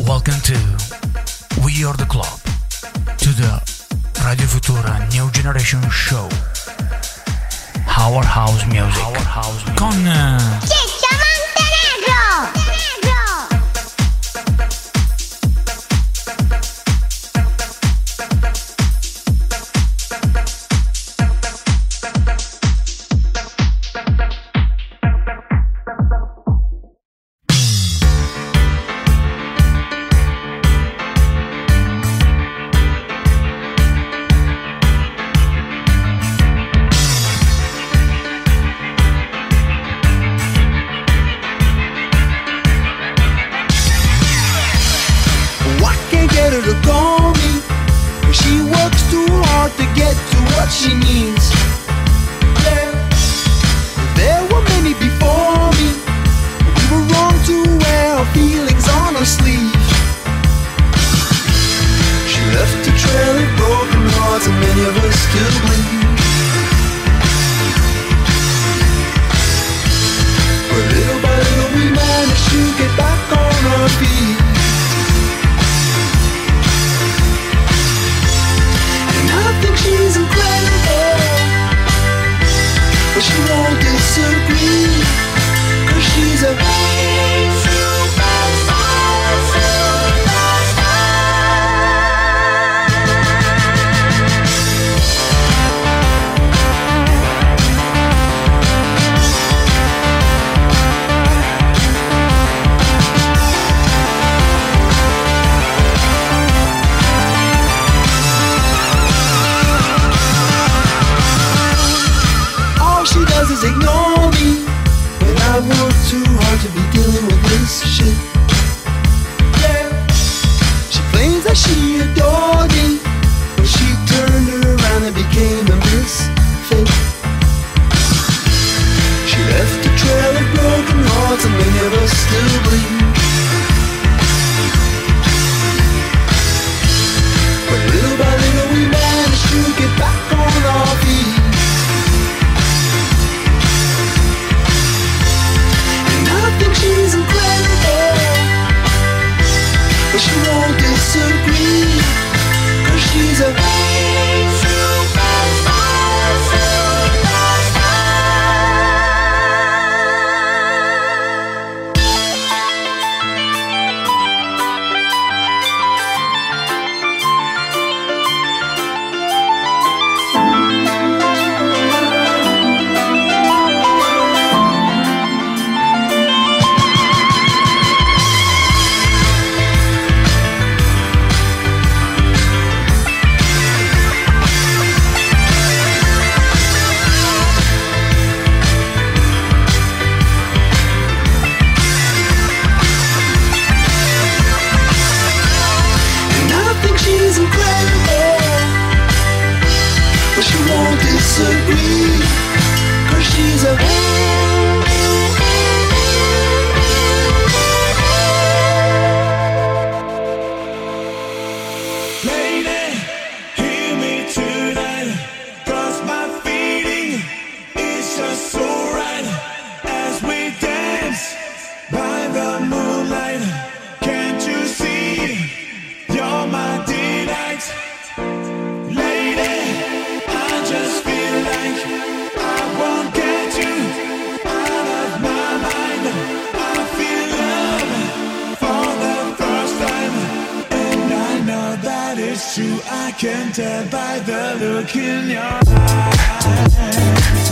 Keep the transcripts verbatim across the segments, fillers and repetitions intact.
Welcome to We Are The Club, to the Radio Futura New Generation Show. Our House Music. Our House Music. Con... Uh... Ciccio Montenegro! She needs. Yeah. There were many before me. We were wrong to wear our feelings on our sleeve. She left a trail of broken hearts, and many of us still bleed. But little by little we managed to get back on our feet. And I think she's incredible, but she won't disagree, 'cause she's a superstar, superstar. All she does is ignore me when I work too hard to be dealing with this shit. Yeah. She claims that she adored me, but she turned around and became a misfit. She left a trail of broken hearts, and many of us still bleed. But little by little we managed to get back on our feet. I think she's incredible, but she won't disagree, 'cause she's a superstar, superstar. But she won't disagree, 'cause she's a lady, hear me tonight, 'cause my feeling is just so right. As we dance by the moonlight, can't you see, you're my delight. Just feel like I won't get you out of my mind. I feel love for the first time, and I know that it's true. I can tell by the look in your eyes.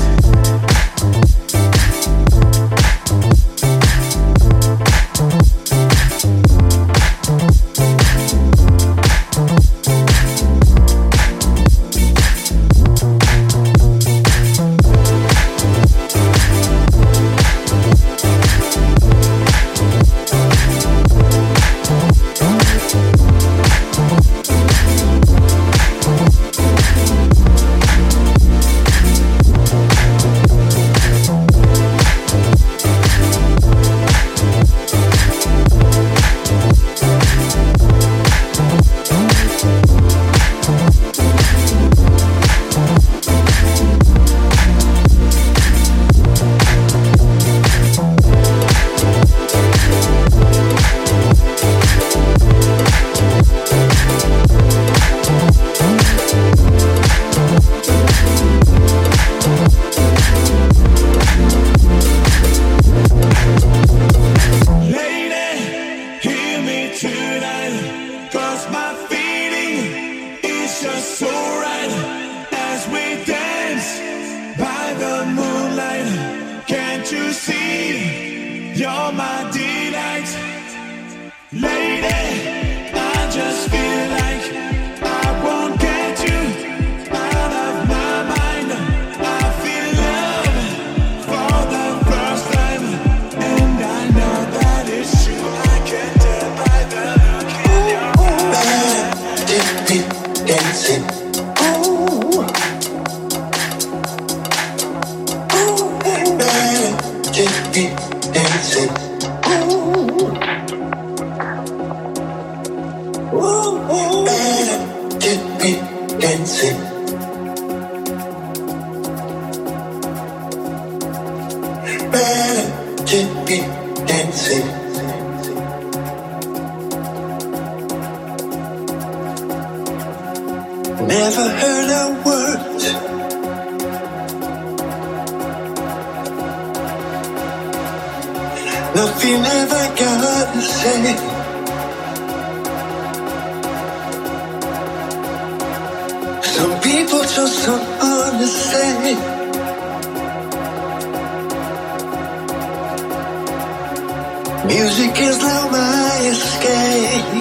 never heard a word. Nothing ever got to say. Some people just don't understand. Music is now my escape.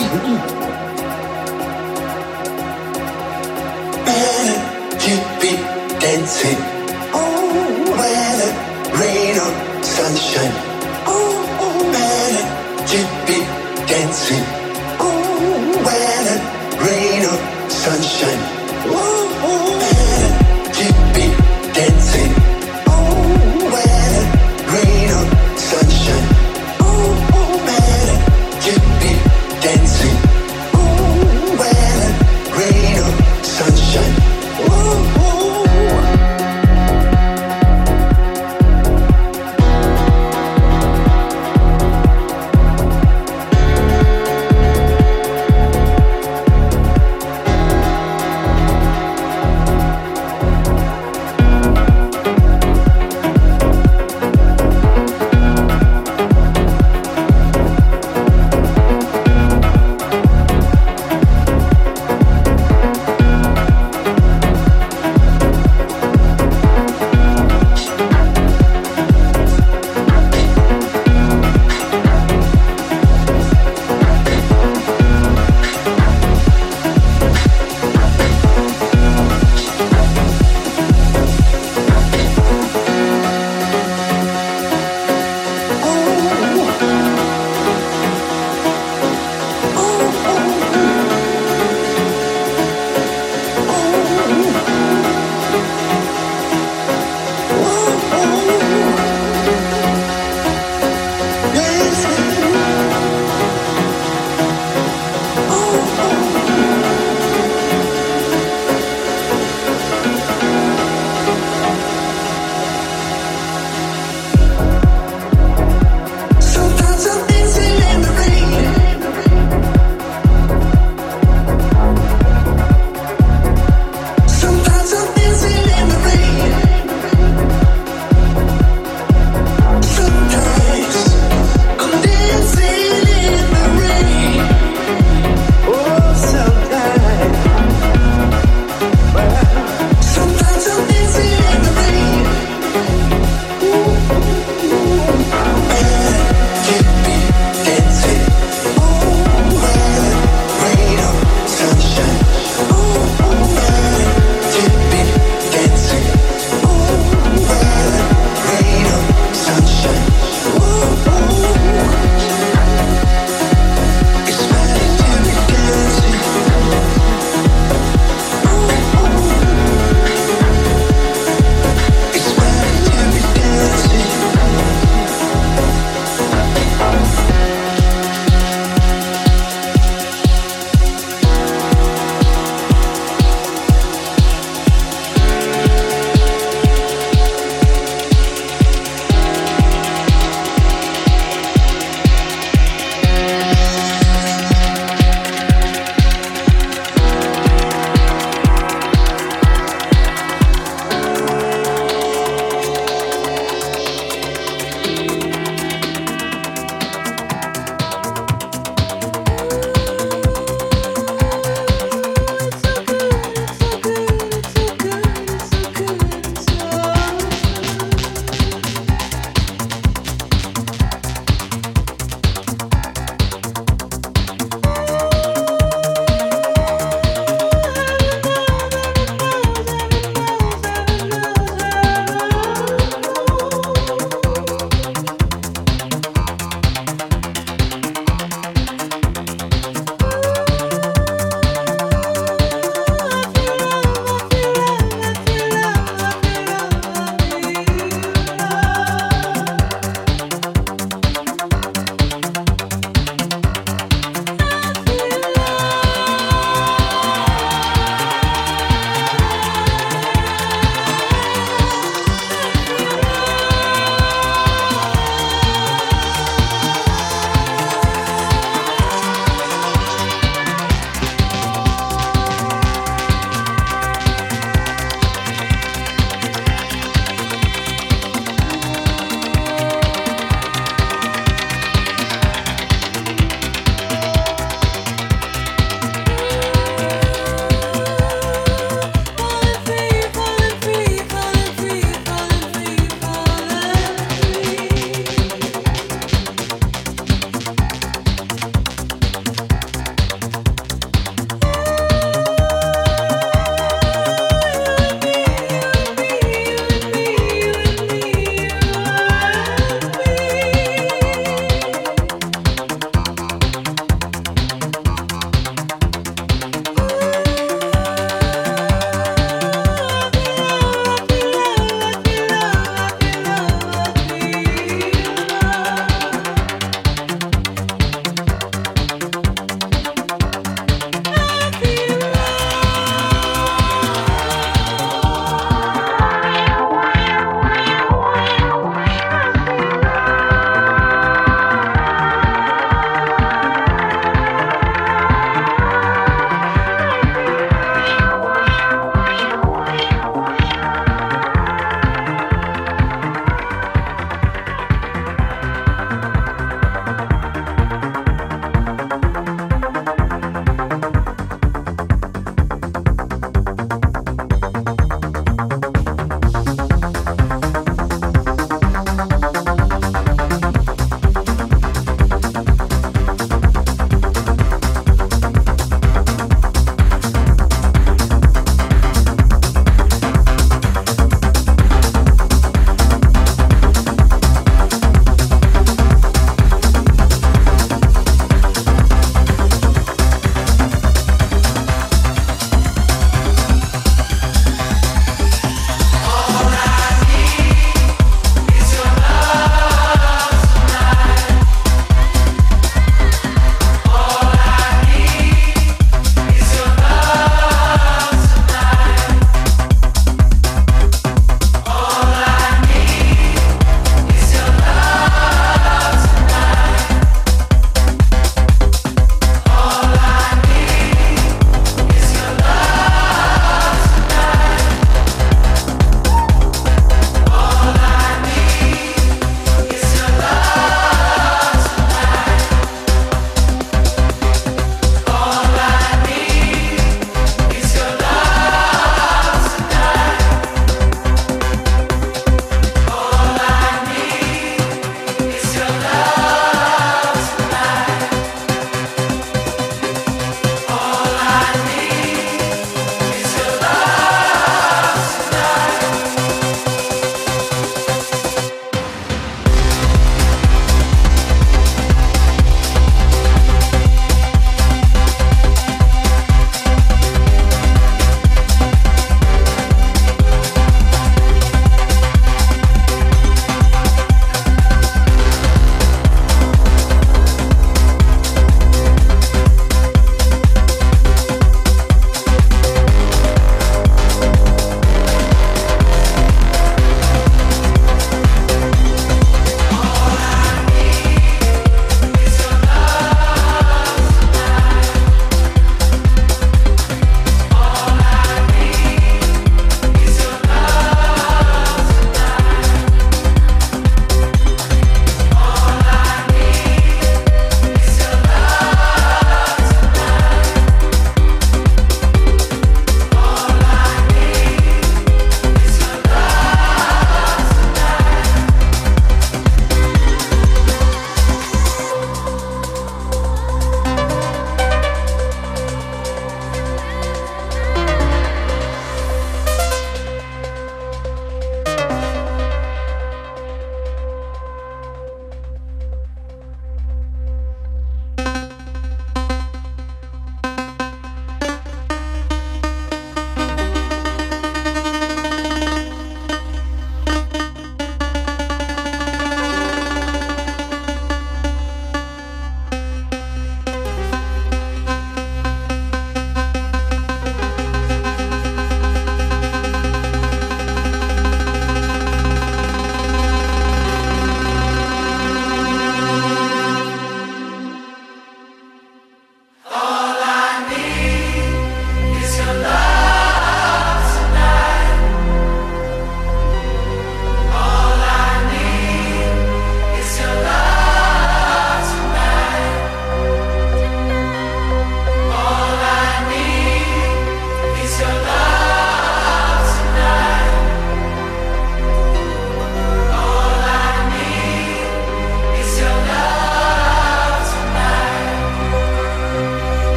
Better to be dancing. Oh, weather, rain or sunshine. Oh, better to be dancing. Oh, weather, rain or sunshine. Oh, better to be dancing. Oh, weather, rain or sunshine. Oh, better to be dancing.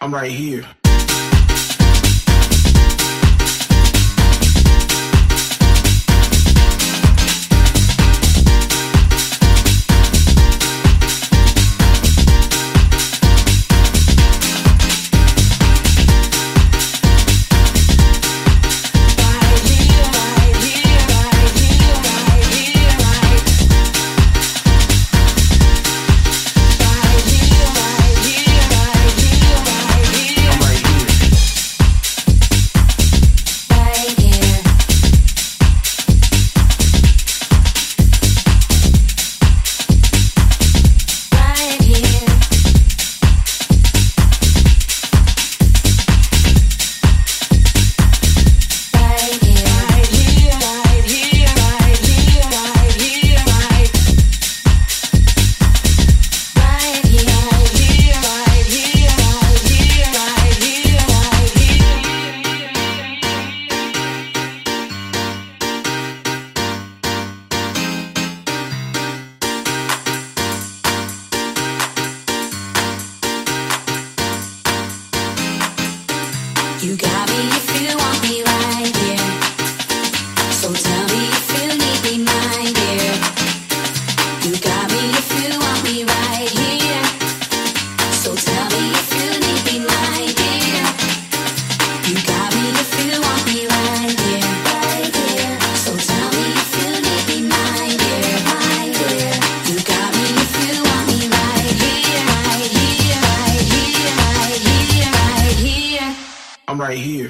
I'm right here. I'm right here.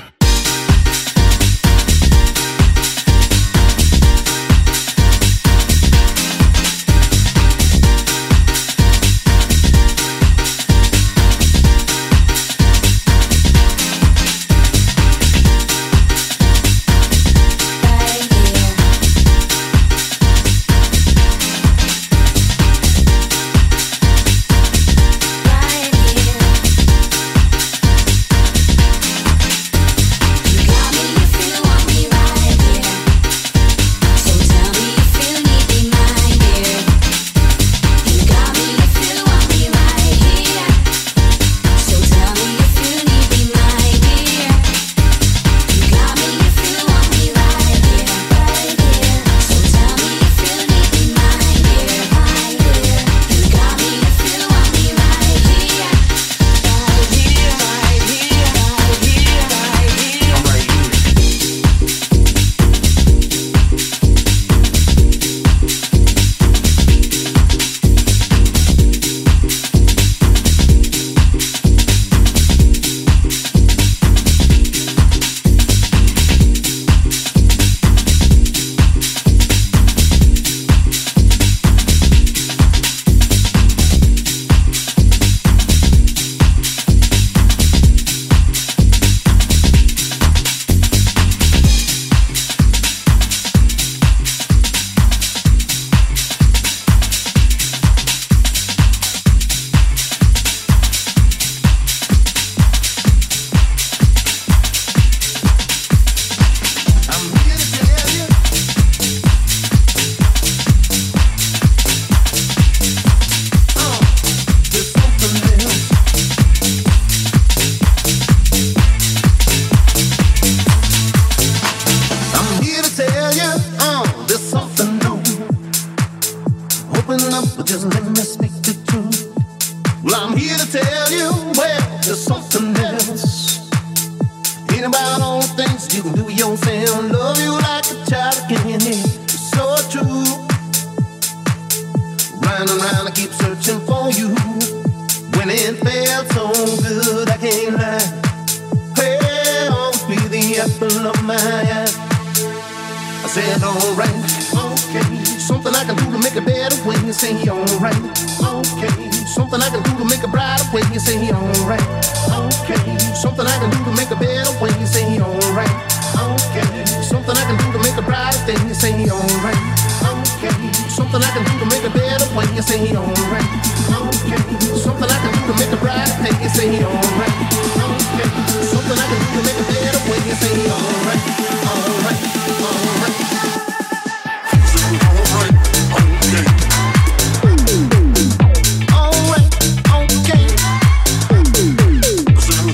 Alright, okay.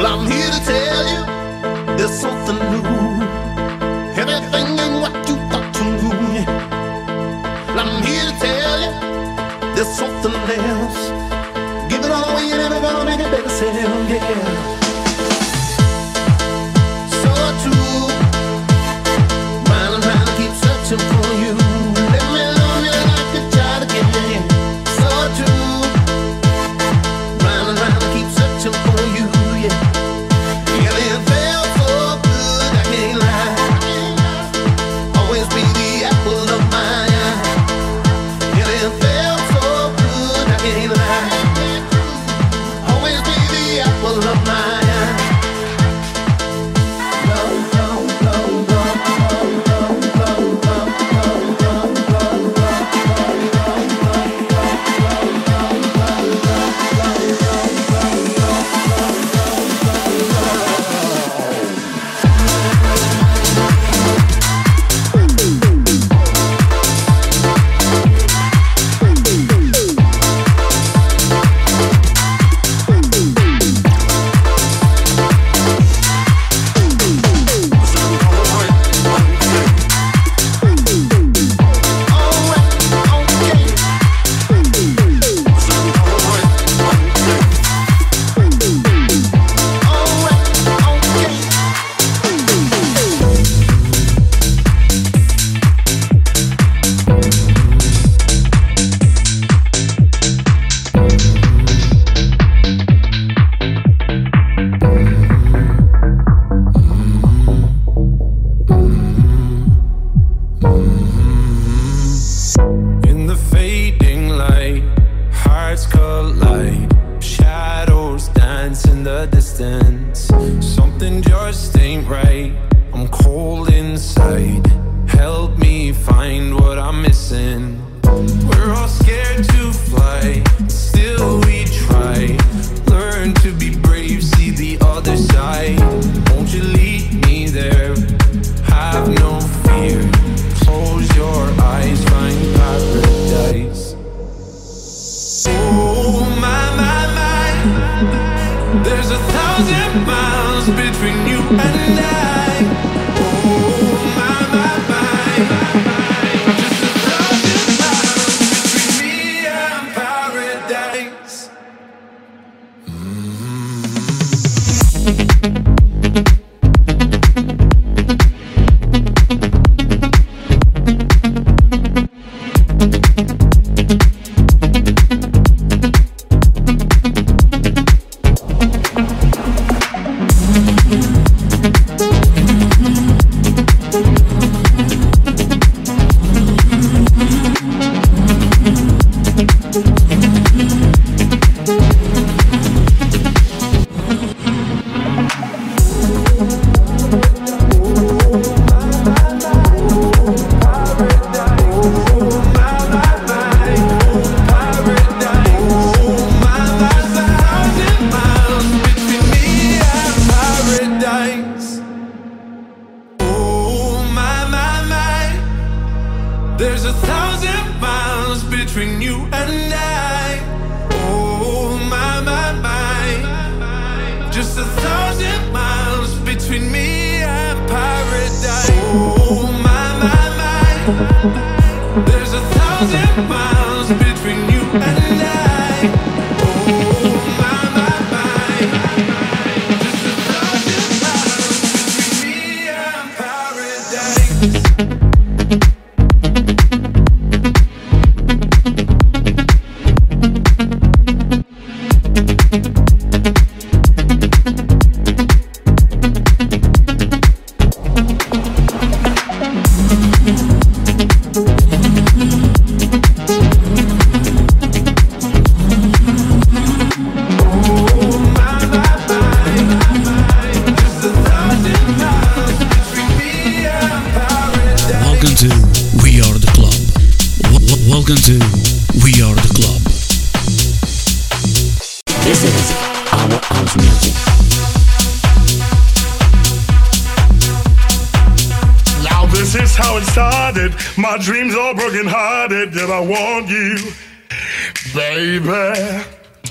Well, I'm here to tell you there's something new. Everything ain't what you thought you knew. Well, I'm here to tell you there's something else. Give it all away and everybody make it better sell, yeah. So true. Round and round, I keep searching for you. Let me love you and I could try to get in. So true. Round and round, I keep searching for you, yeah. Yeah, it felt so good, I can't lie. Always be the apple of my eye. Yeah, it felt so good, I can't lie. Always be the apple of my eye. My dreams are broken hearted, yet I want you, baby.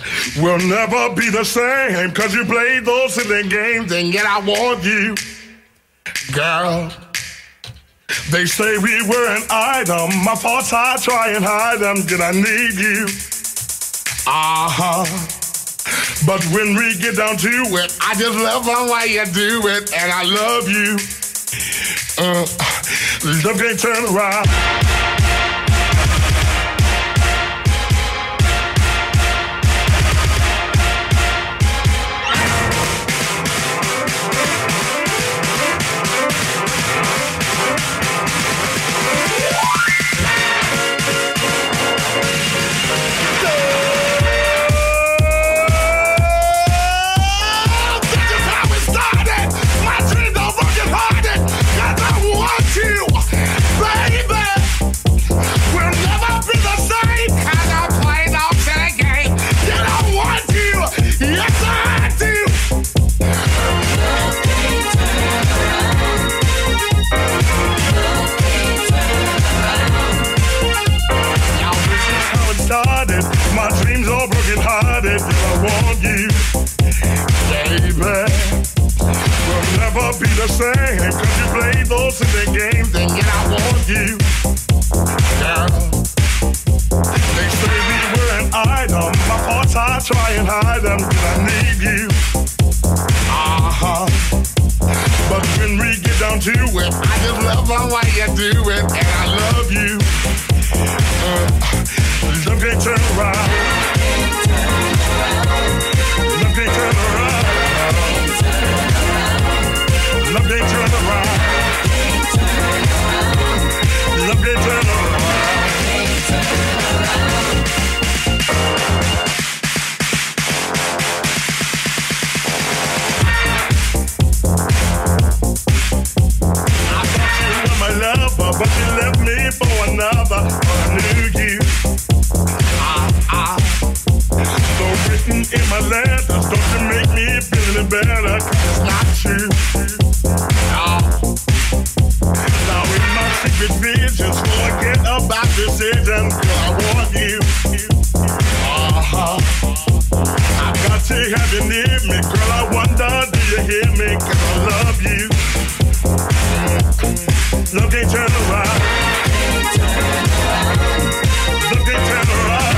we'll never be the same, cause you played those silly games, and yet I want you, girl. They say we were an item, my faults I try and hide them, yet I need you, uh-huh. But when we get down to it, I just love the way you do it, and I love you, uh, love can't turn around. My dreams are broken hearted, I want you, baby. We'll never be the same, cause you played those silly games, and yet I want you, girl. They say we were an item, my faults I try and hide them, cause I need you, uh-huh. But when we get down to it, I just love the way you do it, and I love you, uh, love can't turn around. Love can't turn around. Love can't turn around. Love can't turn around. I thought you were my lover, but you left me for another. I knew you. So written in my letters, don't you make me feel any better, cause it's not true. No. Now in my secret visions, forget about decisions, cause I want you. Uh-huh. I got to have you near me, girl, I wonder, do you hear me, cause I love you. Love can't turn around. Love can't turn around.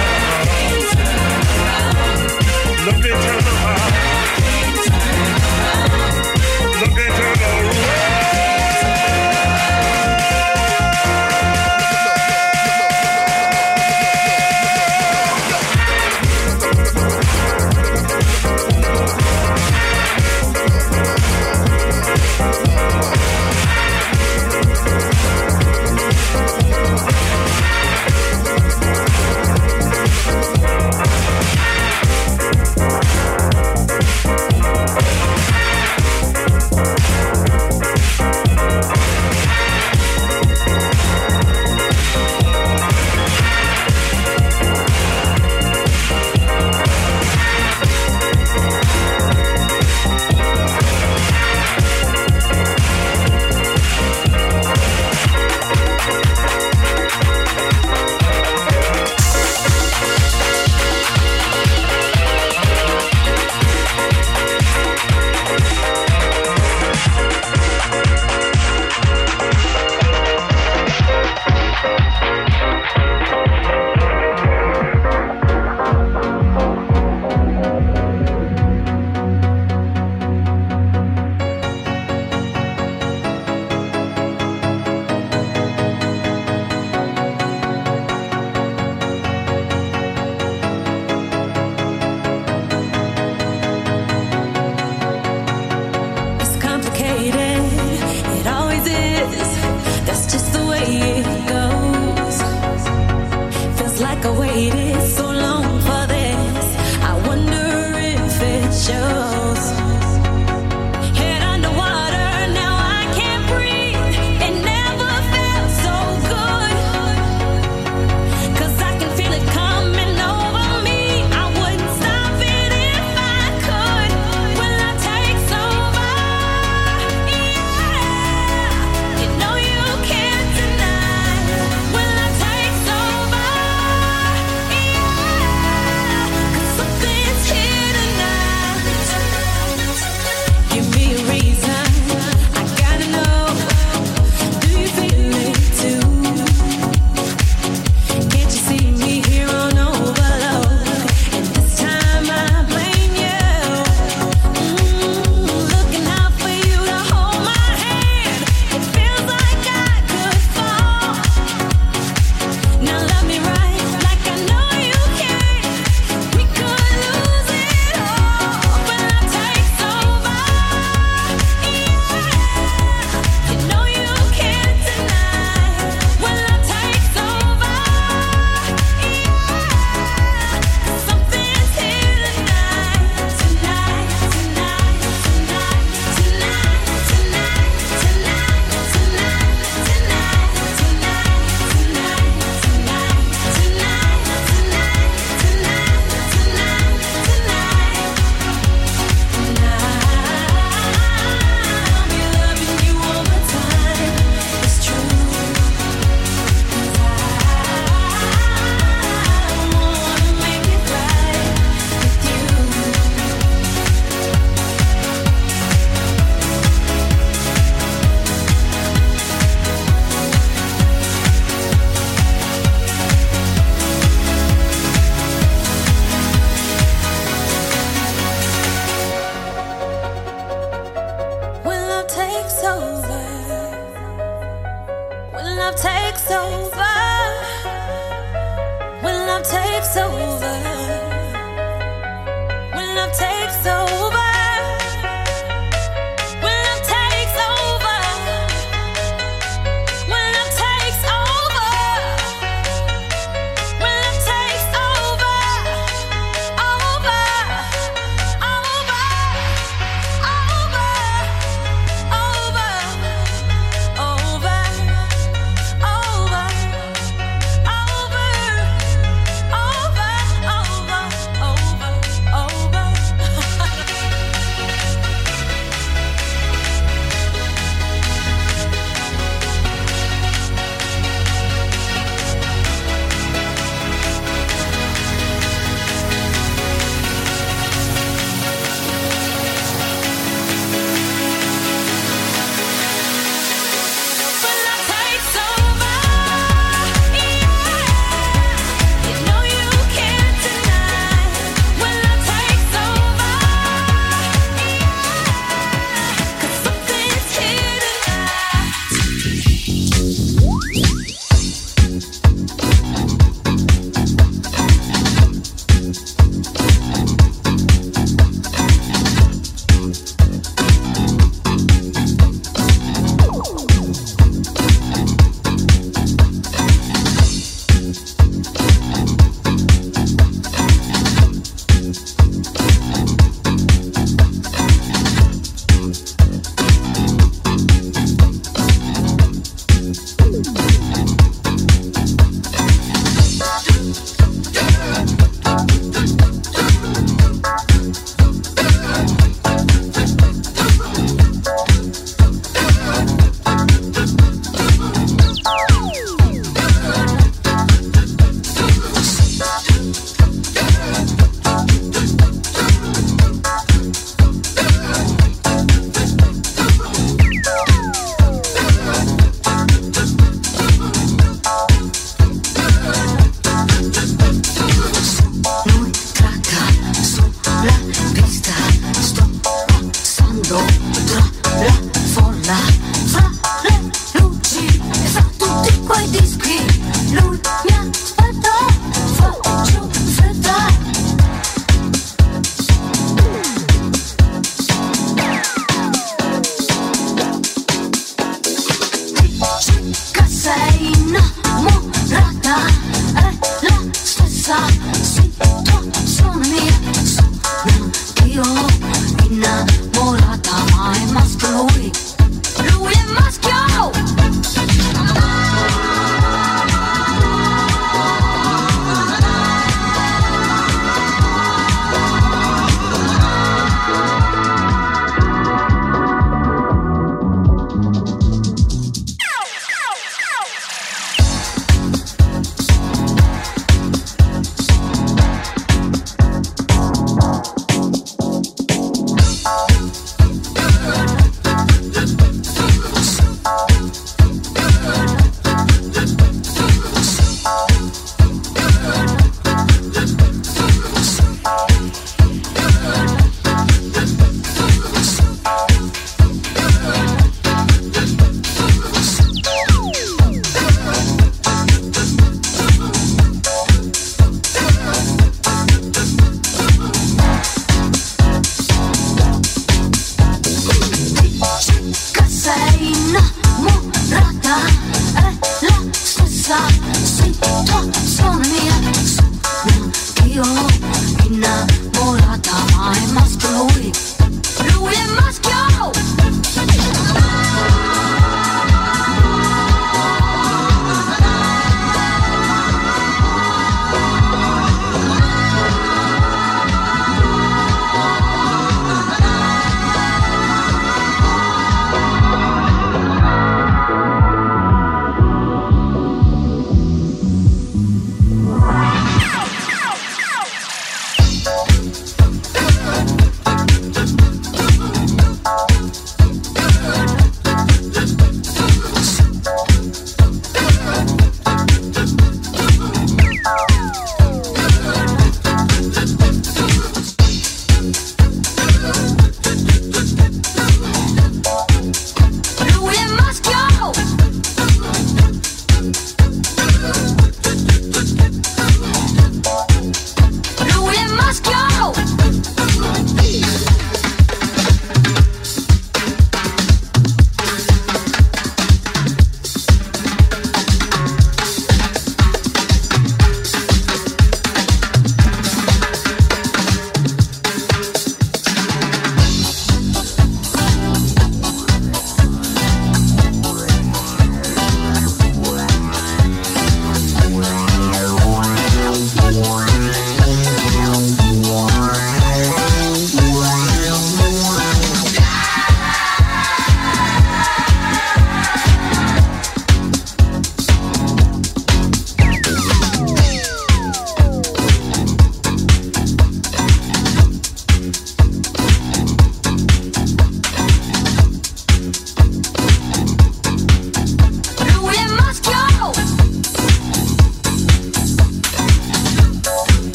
Love can't turn around. Love can't turn around. love takes over, when love takes over, when love takes over.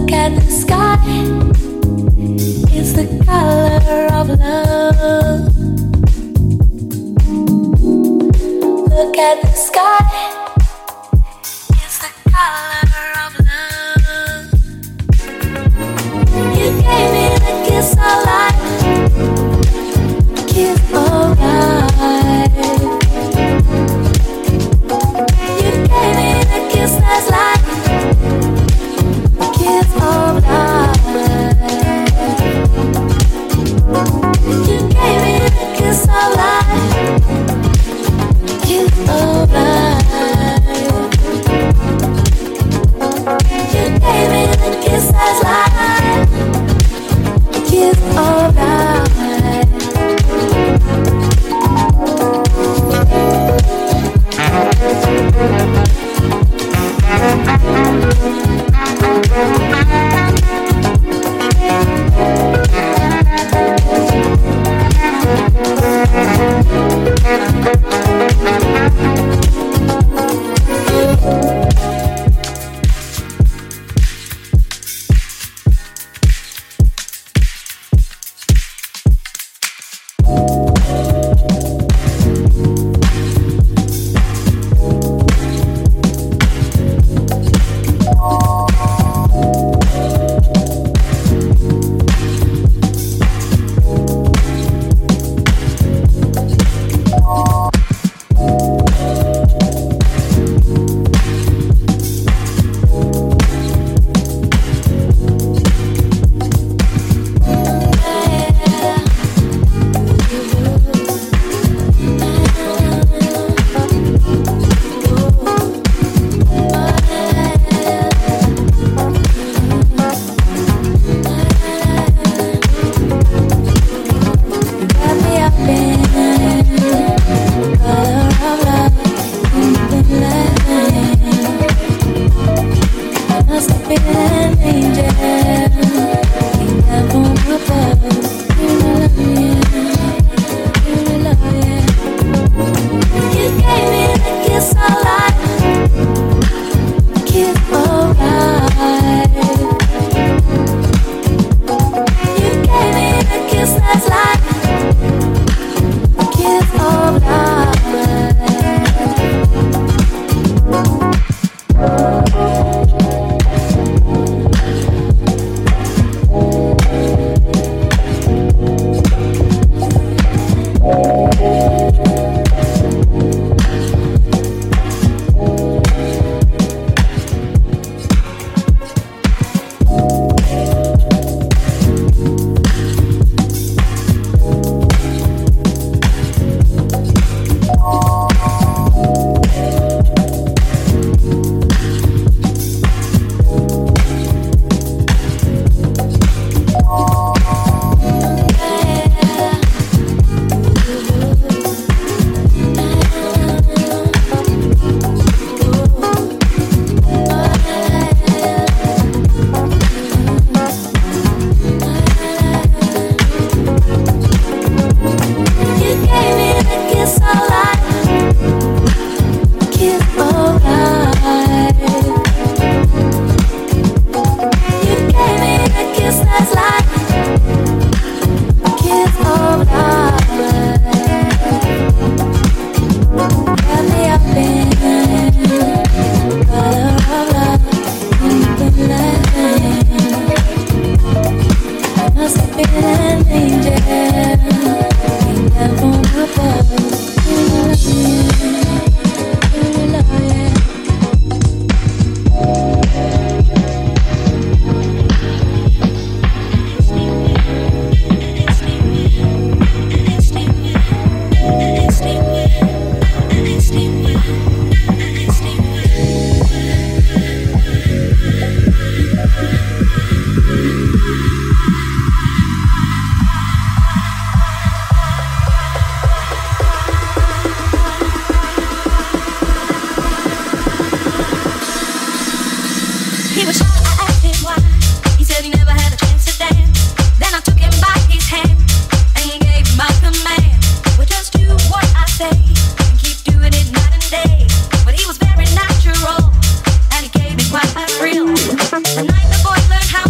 The night the boy learned how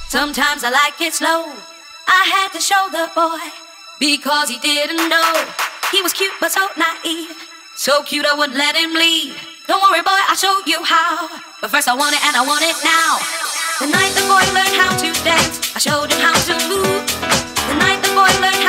Sometimes I like it slow. I had to show the boy because he didn't know. He was cute but so naive, so cute I wouldn't let him leave. Don't worry boy, I'll show you how, but first I want it and I want it now. The night the boy learned how to dance, I showed him how to move. The night the boy learned